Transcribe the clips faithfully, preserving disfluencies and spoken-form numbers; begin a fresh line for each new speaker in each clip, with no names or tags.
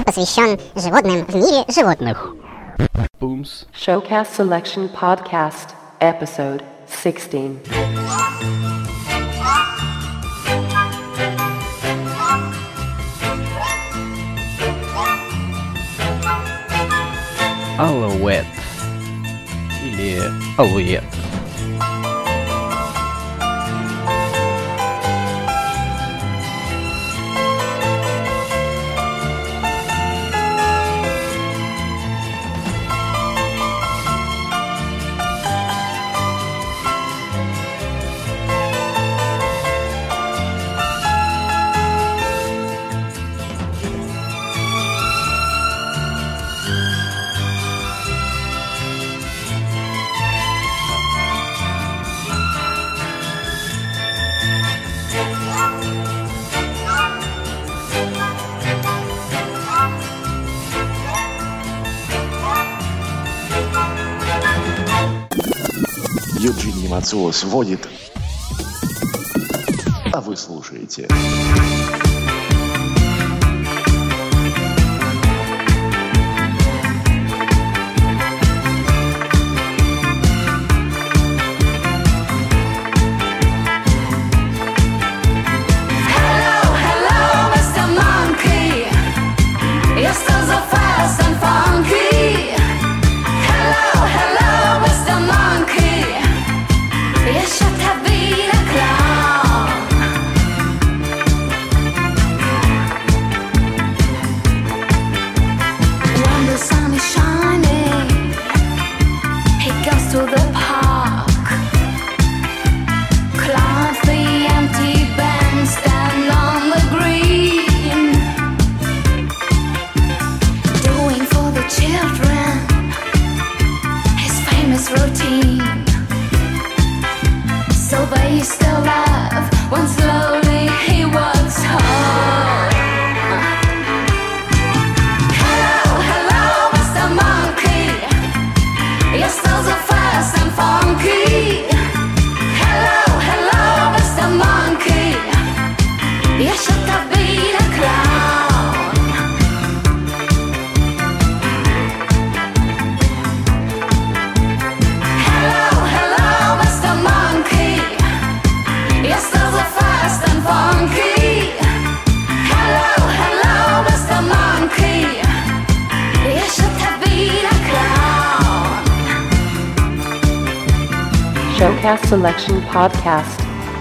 посвящен животным в мире животных.
Booms.
Showcast Selection Podcast, Episode sixteen.
Алуэт. Или алуэт.
Юджини Мацуо сводит, а вы слушаете.
Showcast Selection Podcast.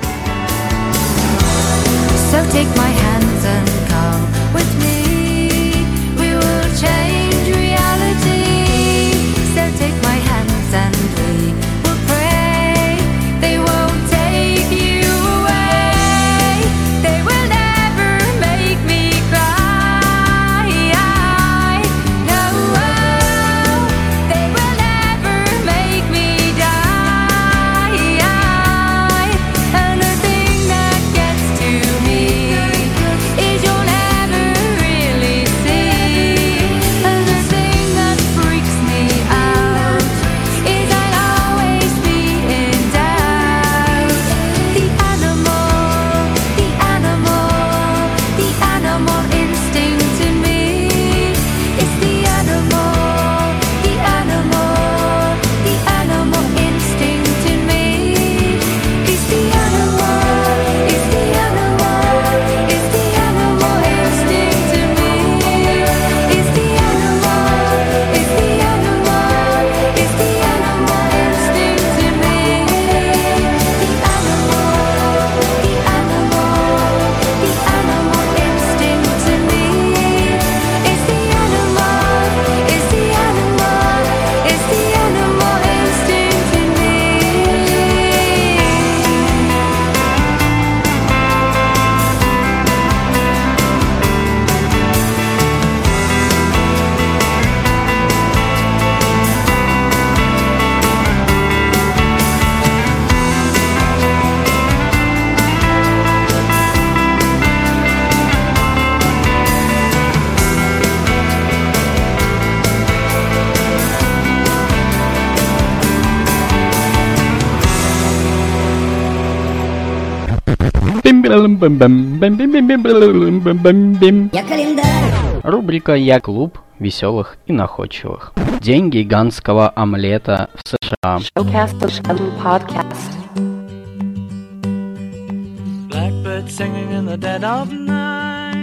So take my hands and come with me. We will change reality. So take my hands and we will pray. They won't take you away. They will never make me cry. No, they will never make me die. And the thing that gets to me is you'll never really see. And the thing that freaks me out is I'll always be in doubt. The animal, the animal, the animal instinct in me. It's the animal, the animal, the animal instinct in me. It's the animal, it's the animal, it's the animal instinct in me. It's the animal, it's the animal, it's the animal instinct in me. The animal, the animal, the animal instinct in me. It's the animal, it's the animal, it's the animal instinct in me.
Бим-бим-бим-бим-бим-бим-бим-бим-бим-бим-бим-бим.
Я календарь
Рубрика «Я клуб веселых и находчивых». День гигантского омлета в США.
Showcast Selection Podcast.
Blackbird singing in the dead of night.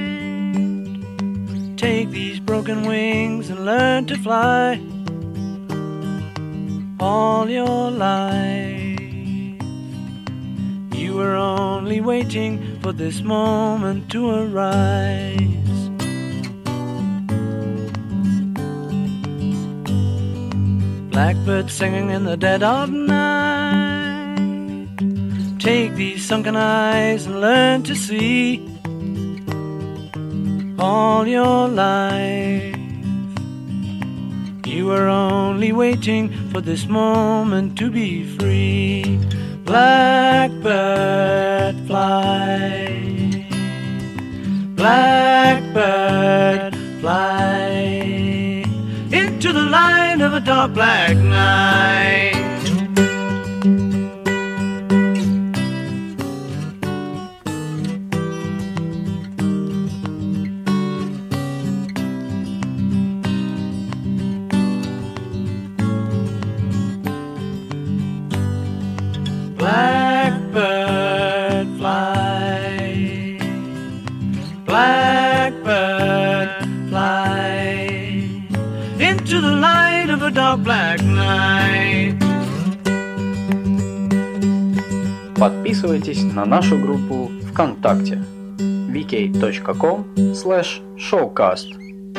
Take these broken wings and learn to fly. All your life you were only waiting for this moment to arise. Blackbird singing in the dead of night. Take these sunken eyes and learn to see. All your life you were only waiting for this moment to be free. Blackbird fly, blackbird fly into the light of a dark black night. Blackbird fly, blackbird fly into the light of a dark black night.
Подписывайтесь на нашу группу ВКонтакте ви кей точка ком слэш шоукаст.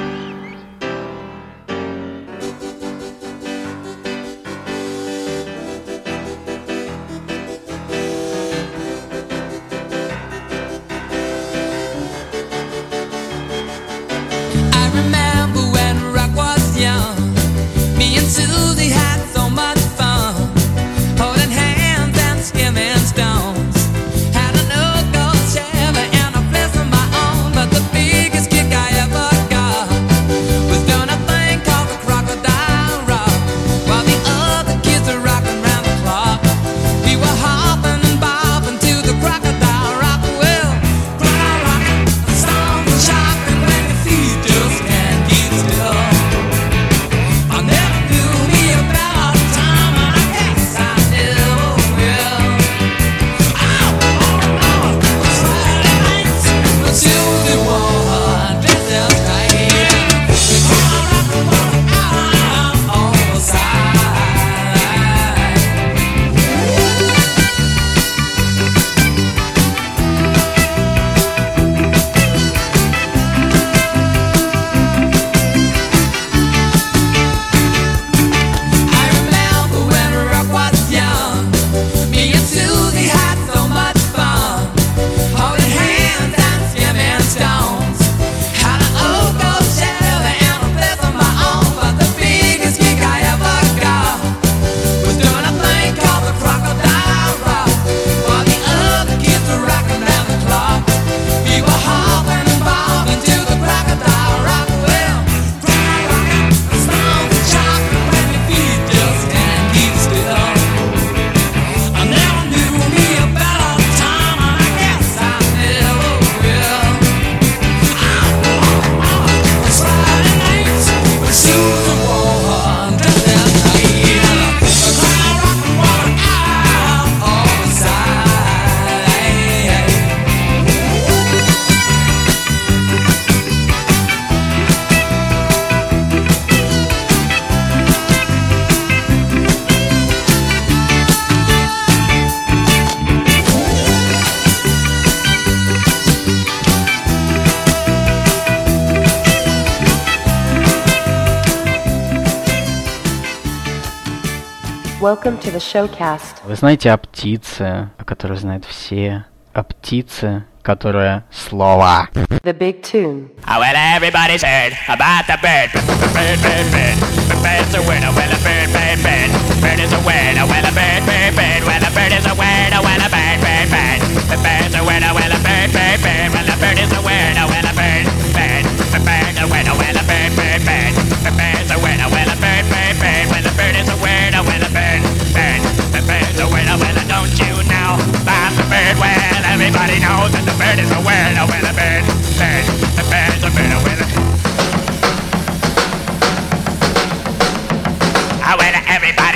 Welcome to the showcast.
Вы знаете о птице, о которой знают все, о птице, которая слово.
The Big Tune.
Oh, well, everybody's heard about the bird. Bird, bird, bird. The bird's a word. Oh, well, a bird, bird, bird. Bird is a word. Oh, well, a bird, bird, bird. Well, a bird is a word. Oh, well, a bird, bird, bird. The bird's a word. Oh, well, a bird, bird, bird. Well, a bird is a word. Oh, well, a bird, bird. The bird's a word. Oh, well, a bird, bird, bird. The bird's a word. Oh, well, a bird, bird, bird. Well, a bird is a word. Oh, well, a bird, bird. The bird's a word. Oh, well, don't you know about the bird? Well, everybody knows that the bird is a word. Oh, well, a bird, bird. The bird's a bird. Oh, well,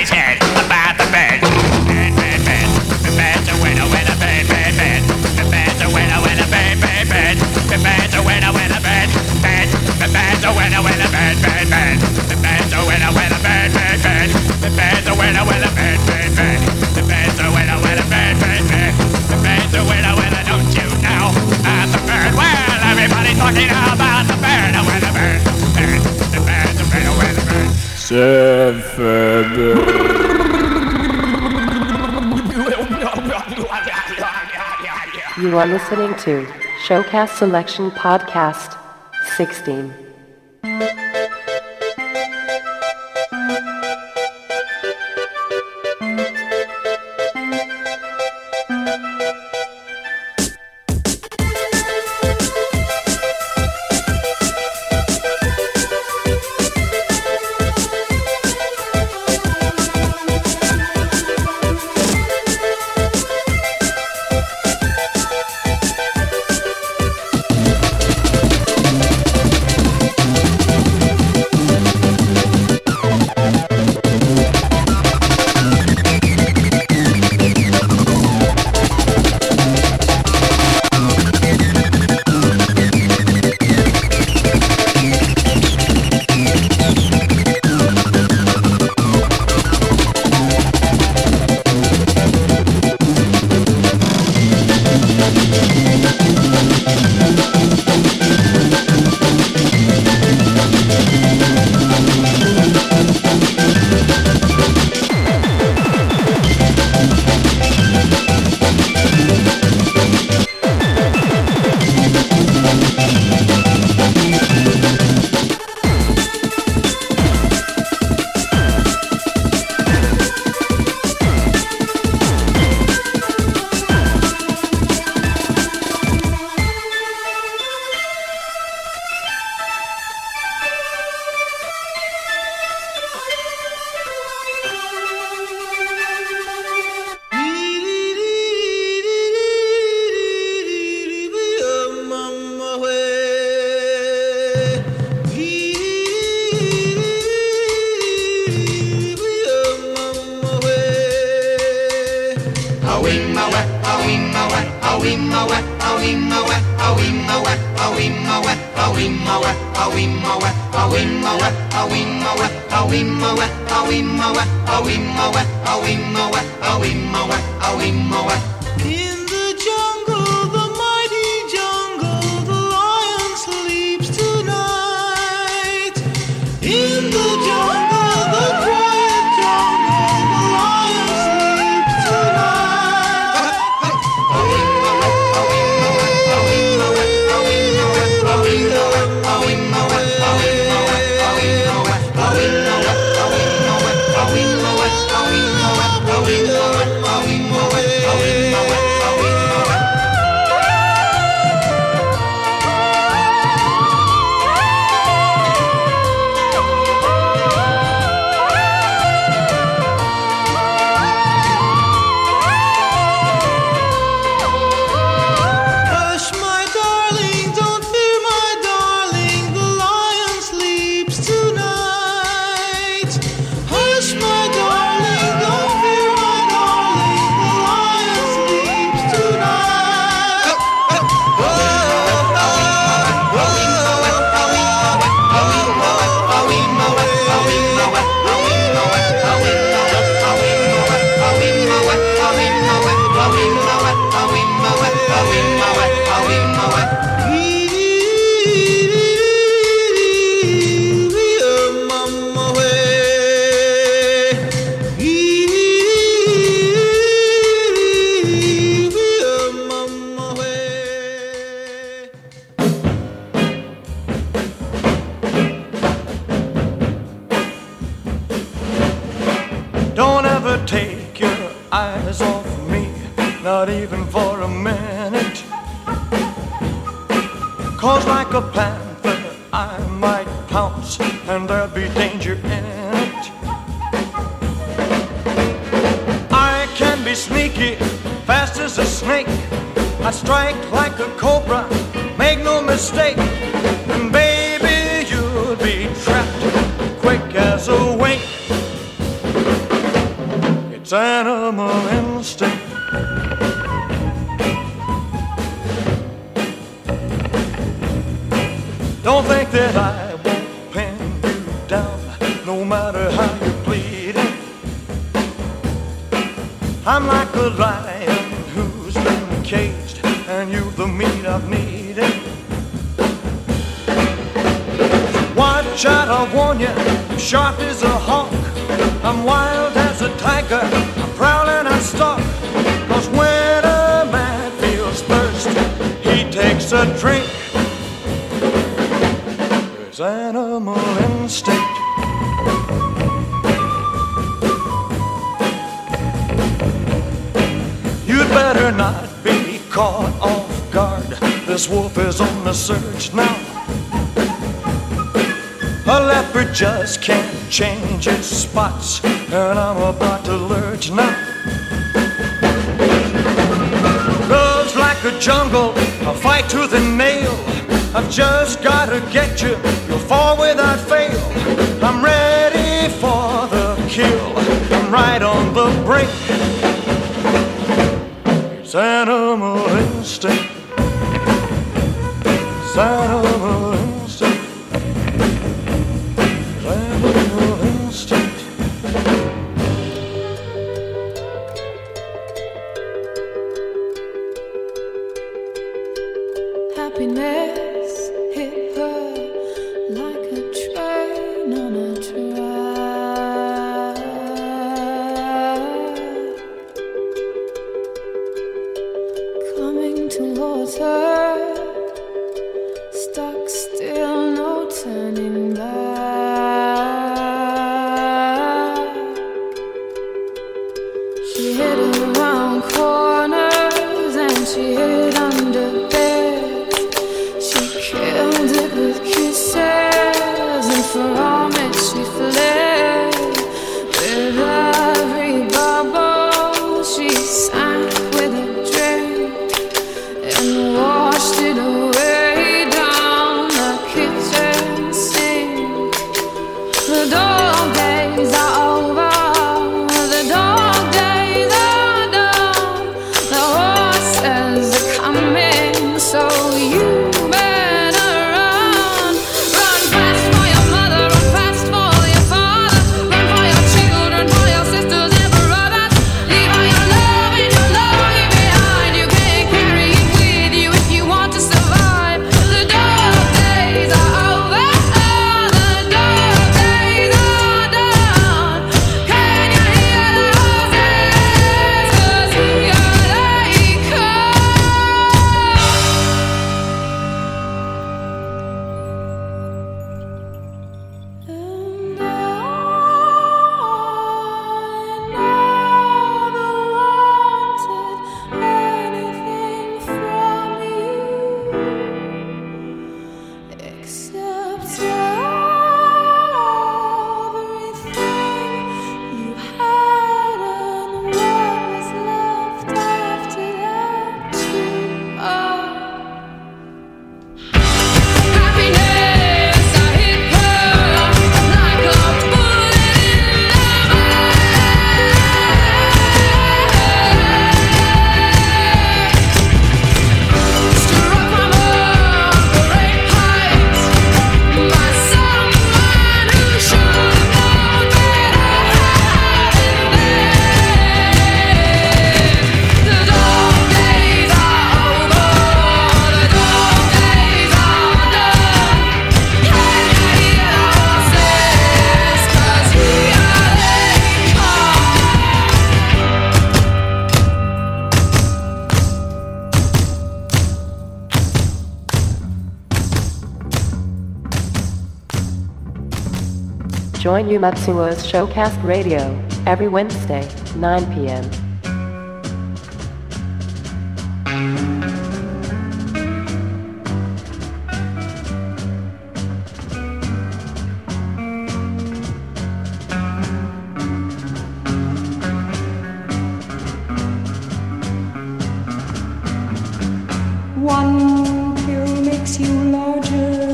Somebody's heard about the bird. Bird, bird, bird. The bird's a winner, winner, bird, bird, bird. The bird's a winner, winner, bird, bird, bird. The bird's a winner, winner, bird, bird. The bird's a winner, winner, bird, bird, bird. The bird's a winner, winner, bird, bird, bird. The bird's a winner, winner, bird, bird, bird. The bird's a winner, winner, bird, bird, bird. The bird's a winner, winner, don't you know? About the bird, well, everybody's talking about the bird, a winner, bird, bird. The bird's a winner, winner, bird.
You are listening to Showcast Selection Podcast sixteen.
It's animal instinct. Don't think that I won't pin you down, no matter how you're bleeding. I'm like a lion who's been caged, and you've the meat I've needed. Watch out, I warn you, I'm sharp as a hawk. I'm wild as a tiger, I'm prowling and stalk. Cause when a man feels thirst, he takes a drink. There's animal instinct. You'd better not be caught off guard. This wolf is on the search now. A leopard just can't change its spots, and I'm about to lurch now. Love's like a jungle, a fight to the nail. I've just gotta get you, you'll fall without fail. I'm ready for the kill, I'm right on the brink. It's animal instinct. It's animal instinct. It's animal instinct.
Happiness hit her like a train on a track, coming towards her, stuck still, no turning back. She hid around corners and she hid under beds. Killed it with kisses, and from it she fled. With every bubble she sank with a drink and washed it away down the kitchen sink. The dog days are over, the dog days are done. The horses are coming, so you
Join Yu Matsuo's Showcast Radio every Wednesday, nine p.m.
One pill makes you larger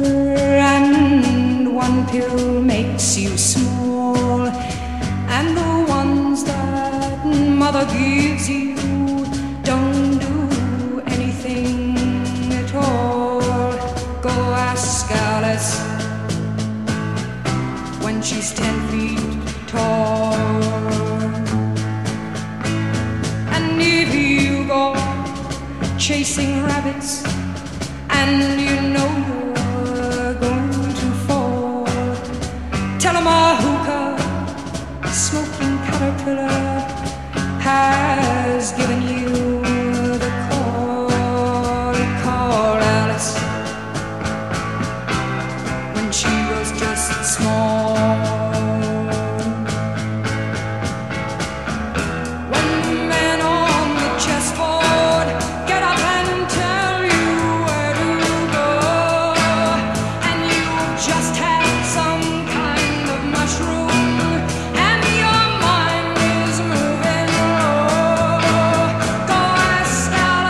and one pill makes you small, and the ones that mother gives you, don't do anything at all. Go ask Alice when she's ten feet tall. And if you go chasing rabbits and you know you're going to fall, tell 'em a hookah smoking caterpillar has given you the call. Call Alice when she was just small. When the men on the chessboard get up and tell you where to go, and you just had some kind of mushroom and your mind is moving low, go ask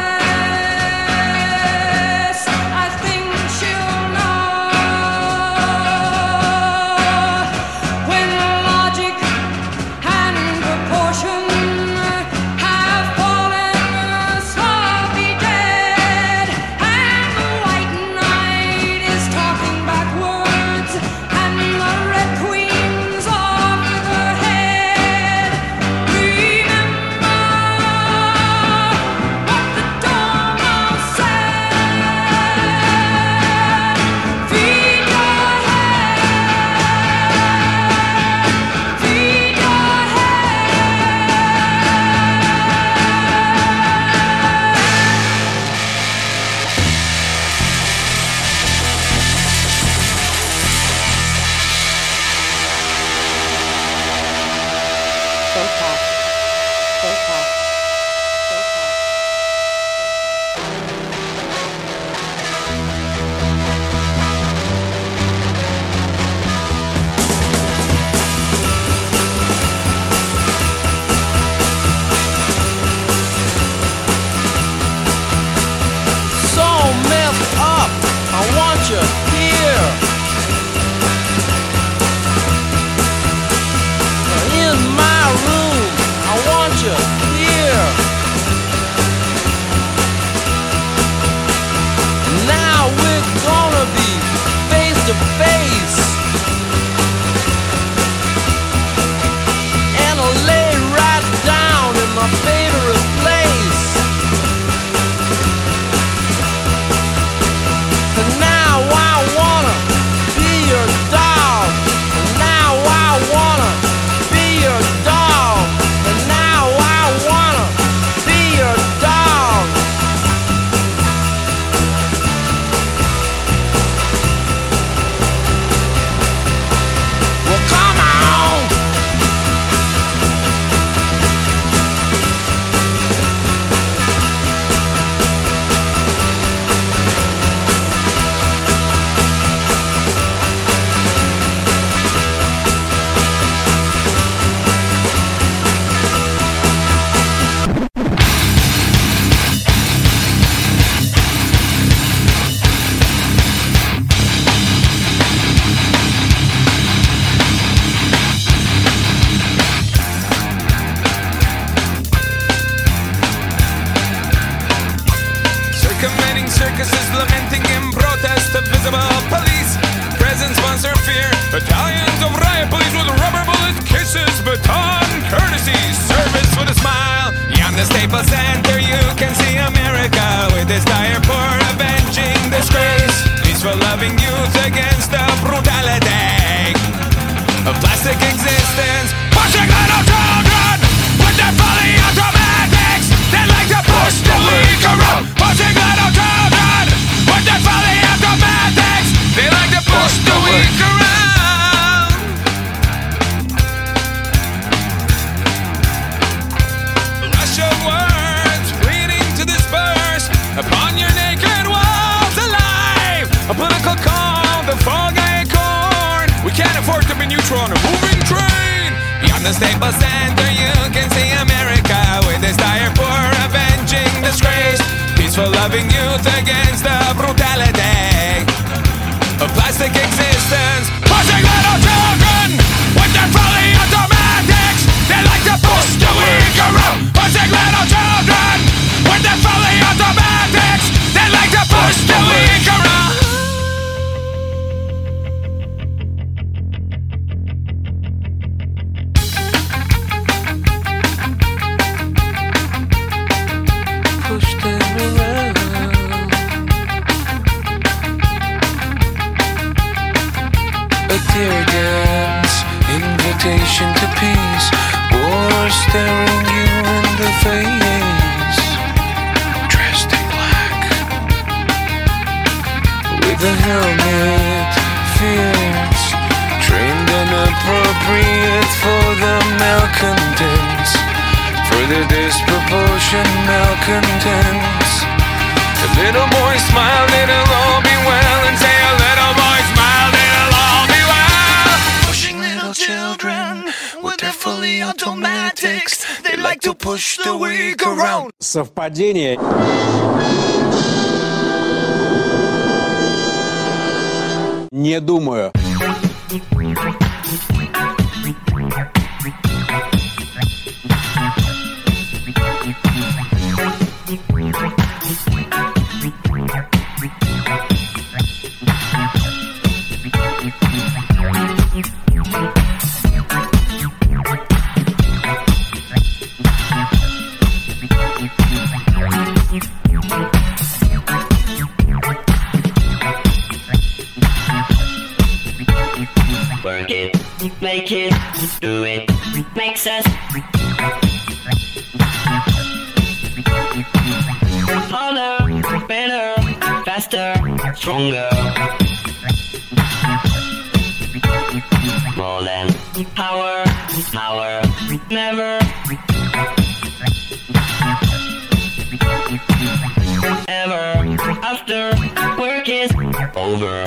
Alice, I think she'll know. When logic and proportion have fallen sloppy dead, and the white knight is talking backwards, and the red queen's off with her head, remember what the Dormouse said. Feed your head, feed your
Showcast. Showcast.
So messed up, I want you here. In my room, I want you here. Now we're gonna be face to face, and I'll lay right down in my favorite place. And now I wanna be your dog. And now I wanna be your dog. And now I wanna be your dog. Well, come on. Circumventing circuses, lamenting in protest of visible police. Presence, sponsor, fear. Battalions of riot police with rubber bullets, kisses, baton, courtesy, service with a smile. Beyond the Staples Center, you can see America with its dire for avenging disgrace. Peaceful, loving youth against the brutality of plastic existence. Pushing little children with their fully automatics. They like to push the weak around. Pushing little children with their fully automatics. They like to push the weak around. Rush of words waiting to disperse upon your naked walls alive. A political call, the fall guy corn. We can't afford to be neutral on a moving train. Beyond the Staples Center, you can see America with its dire for avenging disgrace. Peaceful, loving youth against the brutality of plastic existence. Pushing little children with their fully automatics. They like to push the weak around.
fear dance, invitation to peace, war staring you in the face. Dressed in black, with a helmet, fierce, trained and appropriate for the malcontents, for the disproportioned malcontents. The little boy smiled, it'll all be well, and say a little boy smiled, it'll all be well. Pushing little children with their fully automatics, they like to push the weak around.
Совпадение. Не думаю.
Work it, make it, do it, makes us harder, better, faster, stronger. More than power, power, never. Ever, after work is over.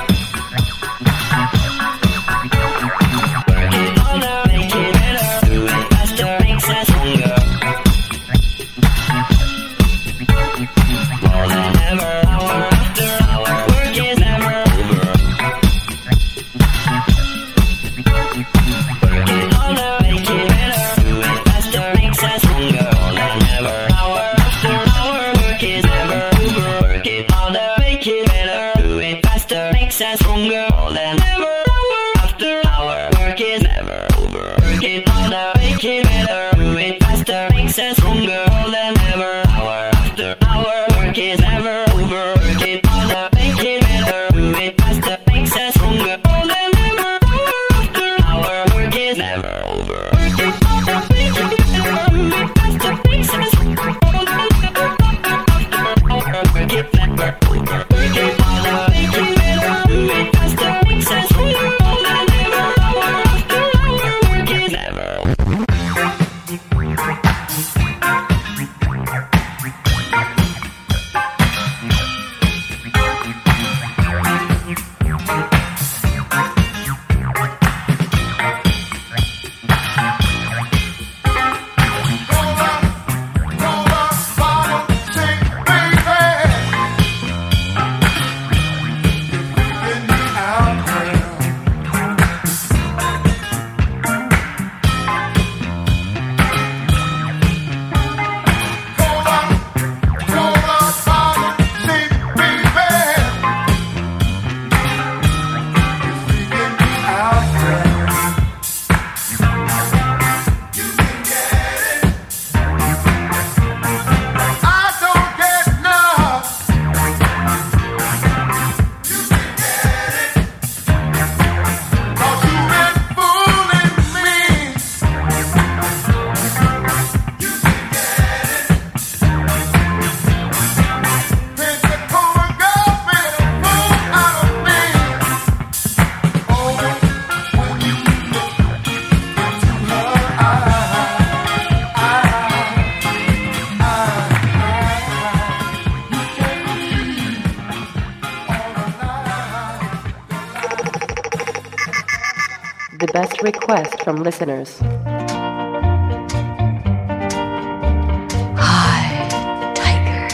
The best request from listeners.
Hi, tiger.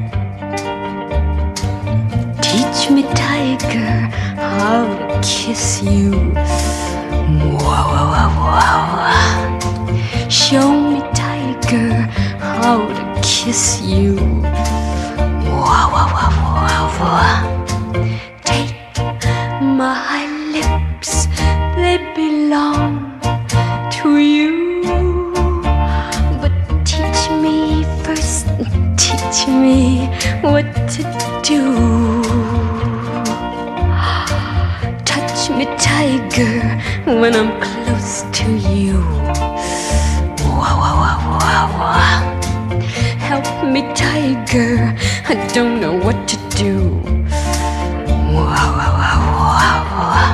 Teach me, tiger, how to kiss you. Wow, wow, wow, wow. Show me, tiger, how to kiss you. Wow, wow, wow, wow, wow. Take my lips, they belong to you. But teach me first, teach me what to do. Touch me tight. tiger when I'm close to you. Wah, wah, wah, wah, wah. Help me, tiger, I don't know what to do. Wah, wah, wah, wah, wah.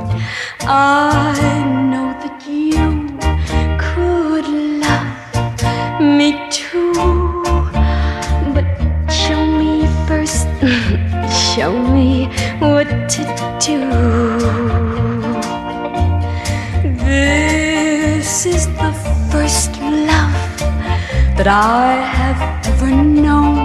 I know that you could love me too, but show me first, show me what to do. This is the first love that I have ever known.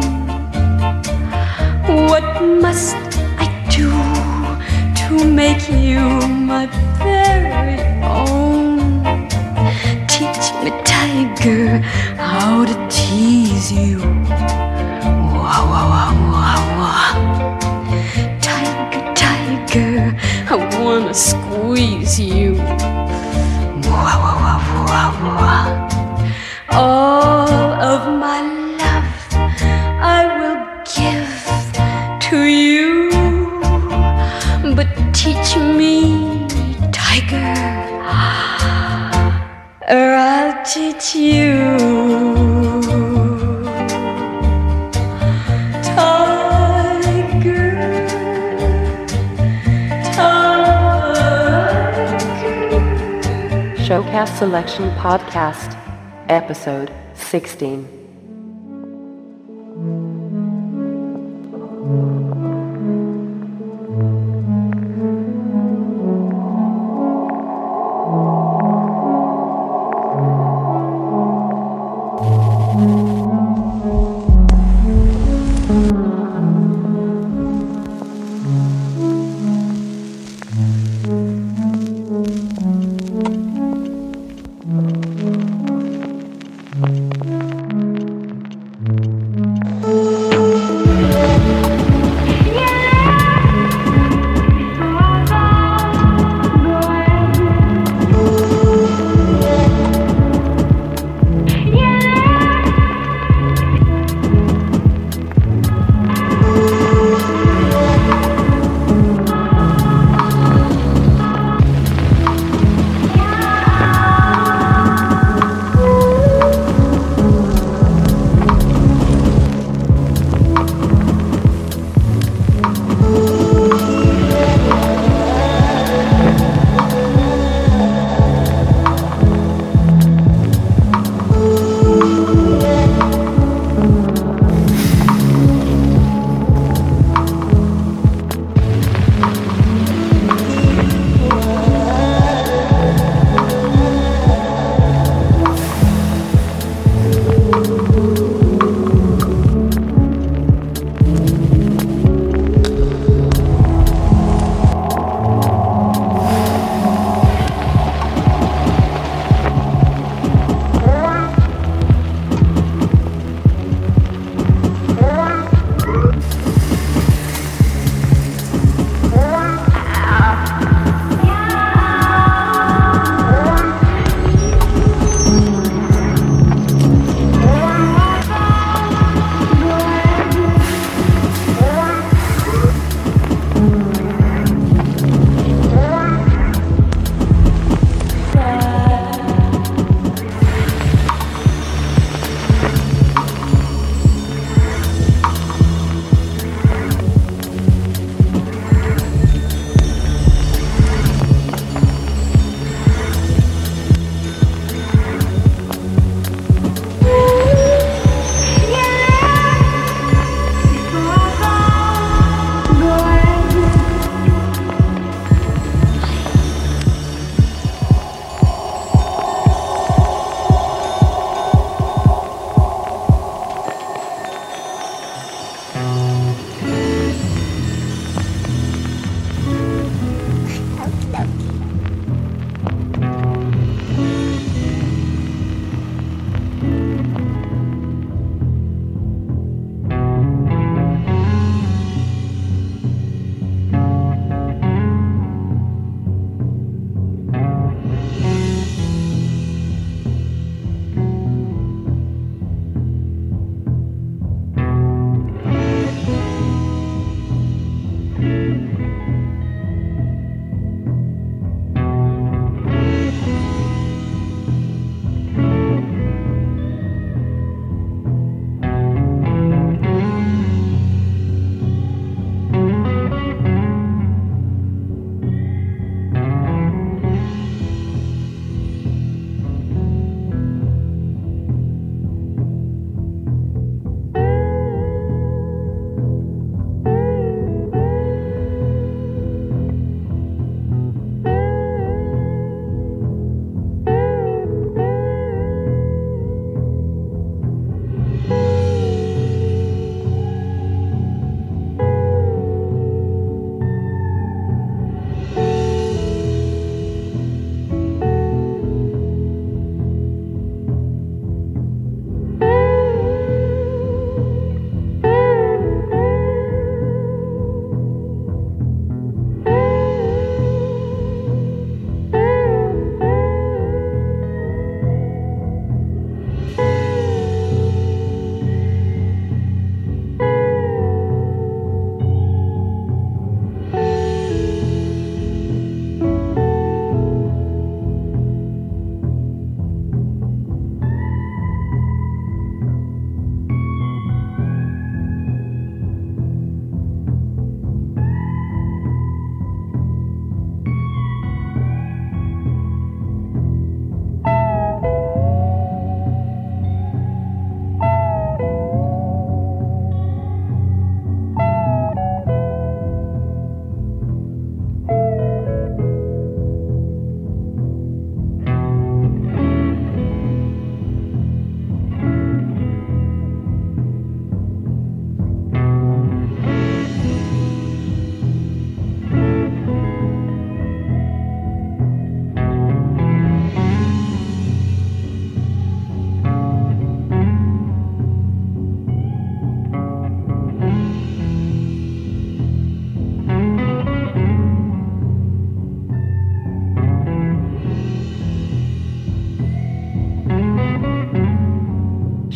What must I do to make you my very own? Teach me, tiger, how to tease you. Wah, wah, wah, wah, wah. Tiger, tiger, I wanna squeeze you. Wah, wah, wah, wah, wah. All of my love I will give to you, but teach me, tiger, or I'll teach you. Tiger, tiger.
Showcast Selection Podcast, Episode sixteen.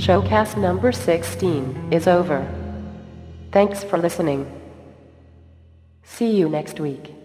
Showcast number sixteen is over. Thanks for listening. See you next week.